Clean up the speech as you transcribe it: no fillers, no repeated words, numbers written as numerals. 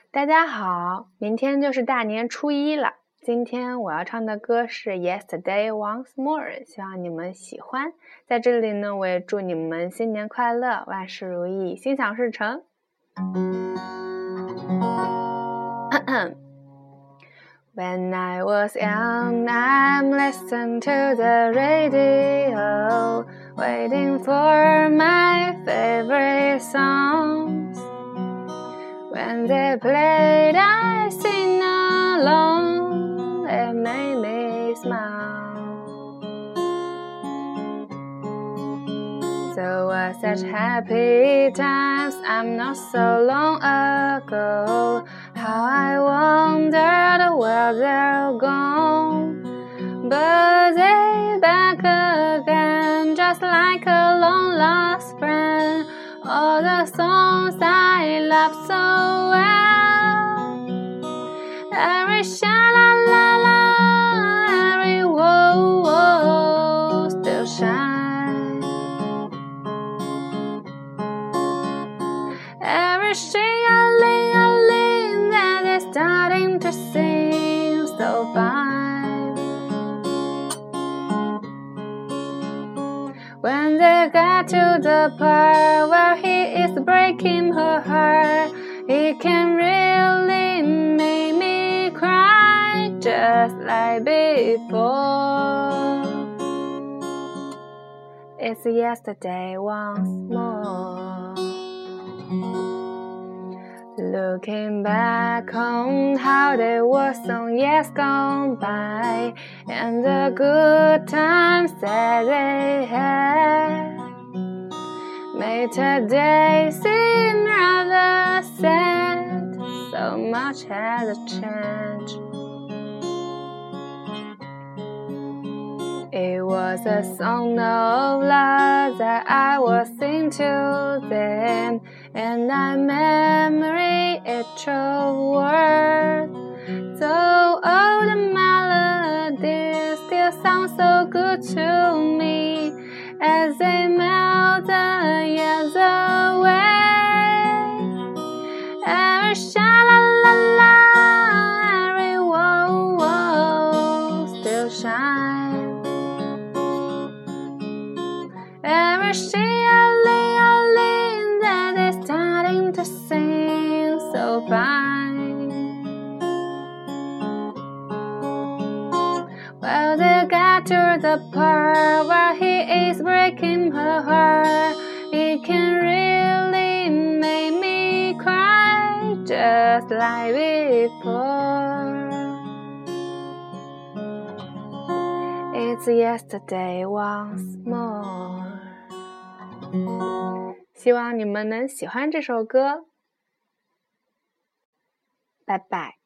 大家好，明天就是大年初一了。今天我要唱的歌是 Yesterday Once More， 希望你们喜欢。在这里呢，我也祝你们新年快乐，万事如意，心想事成。When I was young, I listened to the radio, waiting for my favorite songs. When they played, I sing along. It made me smile. There were such happy times, I'm not so long ago. How I wondered where they're gone. But they're back again, just like a long lost friend. All the songs I love so well. Every sha-la-la-la, every whoa-whoa still shine. Every shing-a-ling-a-ling that is starting to sing so fine. When they got to the part where he is breaking her heart, it can really make me cry just like before. It's yesterday once more. Looking back on how they were some years gone by, and the good times that they had, made today seem rather sad. So much has changed. It was a song of love that I was singing to them, and I memory each word. So all the melodies still sound so good to me as they melt the years away. Every sha-la-la-la, every whoa-whoa still shine. Every shing-a-ling-a-ling that is starting to sing so fine. Well, they got to the part where he is breaking her heart. It can really make me cry just like before. It's yesterday once more. 希望你们能喜欢这首歌。拜拜。